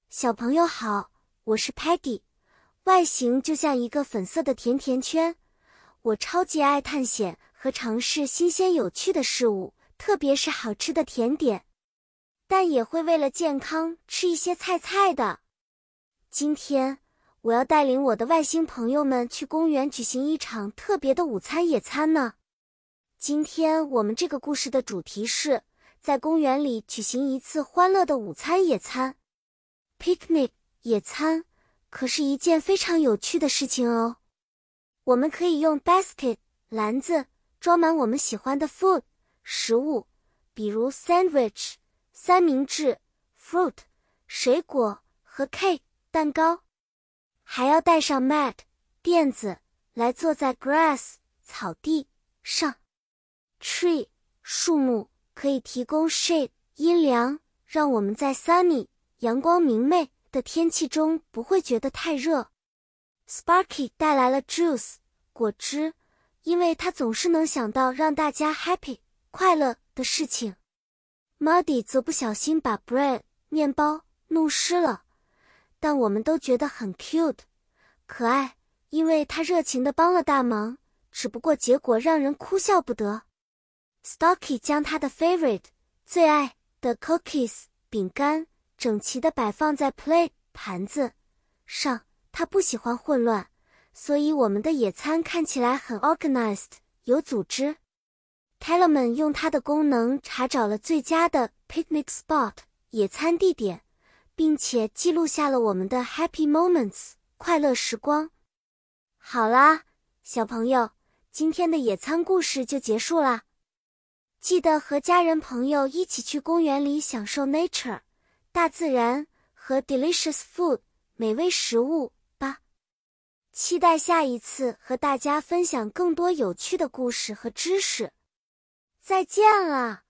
小朋友好，我是 Patty， 外形就像一个粉色的甜甜圈。我超级爱探险和尝试新鲜有趣的事物，特别是好吃的甜点。但也会为了健康吃一些菜的。今天，我要带领我的外星朋友们去公园举行一场特别的午餐野餐呢。今天我们这个故事的主题是，在公园里举行一次欢乐的午餐野餐。Picnic 野餐可是一件非常有趣的事情哦。我们可以用 basket 篮子装满我们喜欢的 food 食物，比如 sandwich 三明治、fruit 水果和 cake 蛋糕。还要带上 mat 垫子来坐在 grass 草地上。Tree 树木可以提供 shade 阴凉，让我们在 sunny阳光明媚的天气中不会觉得太热。Sparky 带来了 juice 果汁，因为他总是能想到让大家 happy 快乐的事情。Muddy 则不小心把 bread 面包弄湿了，但我们都觉得很 cute 可爱，因为他热情地帮了大忙，只不过结果让人哭笑不得。Stocky 将他的 favorite 最爱的 cookies 饼干整齐地摆放在 plate 盘子上，他不喜欢混乱，所以我们的野餐看起来很 organized 有组织。Tellerman 用它的功能查找了最佳的 picnic spot 野餐地点，并且记录下了我们的 happy moments 快乐时光。好啦，小朋友，今天的野餐故事就结束啦。记得和家人朋友一起去公园里享受 nature 大自然和 delicious food 美味食物吧。期待下一次和大家分享更多有趣的故事和知识。再见了。